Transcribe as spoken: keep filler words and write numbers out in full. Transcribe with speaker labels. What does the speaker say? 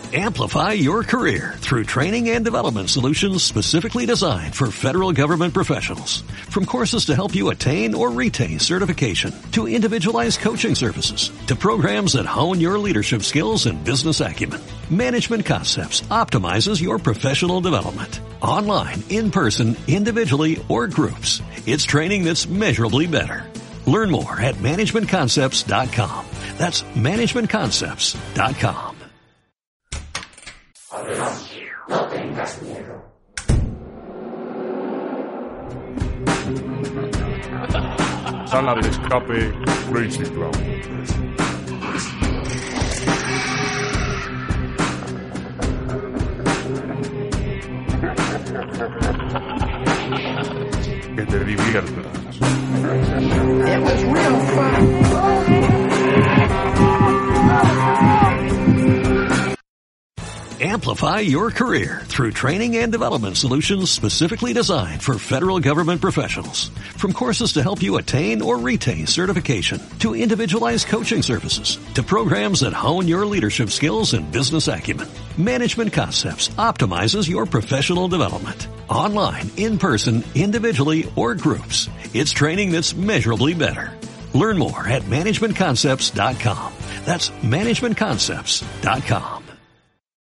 Speaker 1: Amplify your career through training and development solutions specifically designed for federal government professionals. From courses to help you attain or retain certification, to individualized coaching services, to programs that hone your leadership skills and business acumen, Management Concepts optimizes your professional development. Online, in person, individually, or groups, it's training that's measurably better. Learn more at management concepts dot com. That's management concepts dot com.
Speaker 2: No tengas miedo.
Speaker 3: Sala de escape Crazy Clown. Que te diviertas.
Speaker 2: It was real fun.
Speaker 1: Amplify your career through training and development solutions specifically designed for federal government professionals. From courses to help you attain or retain certification, to individualized coaching services, to programs that hone your leadership skills and business acumen, Management Concepts optimizes your professional development. Online, in person, individually, or groups, it's training that's measurably better. Learn more at management concepts dot com. That's management concepts dot com.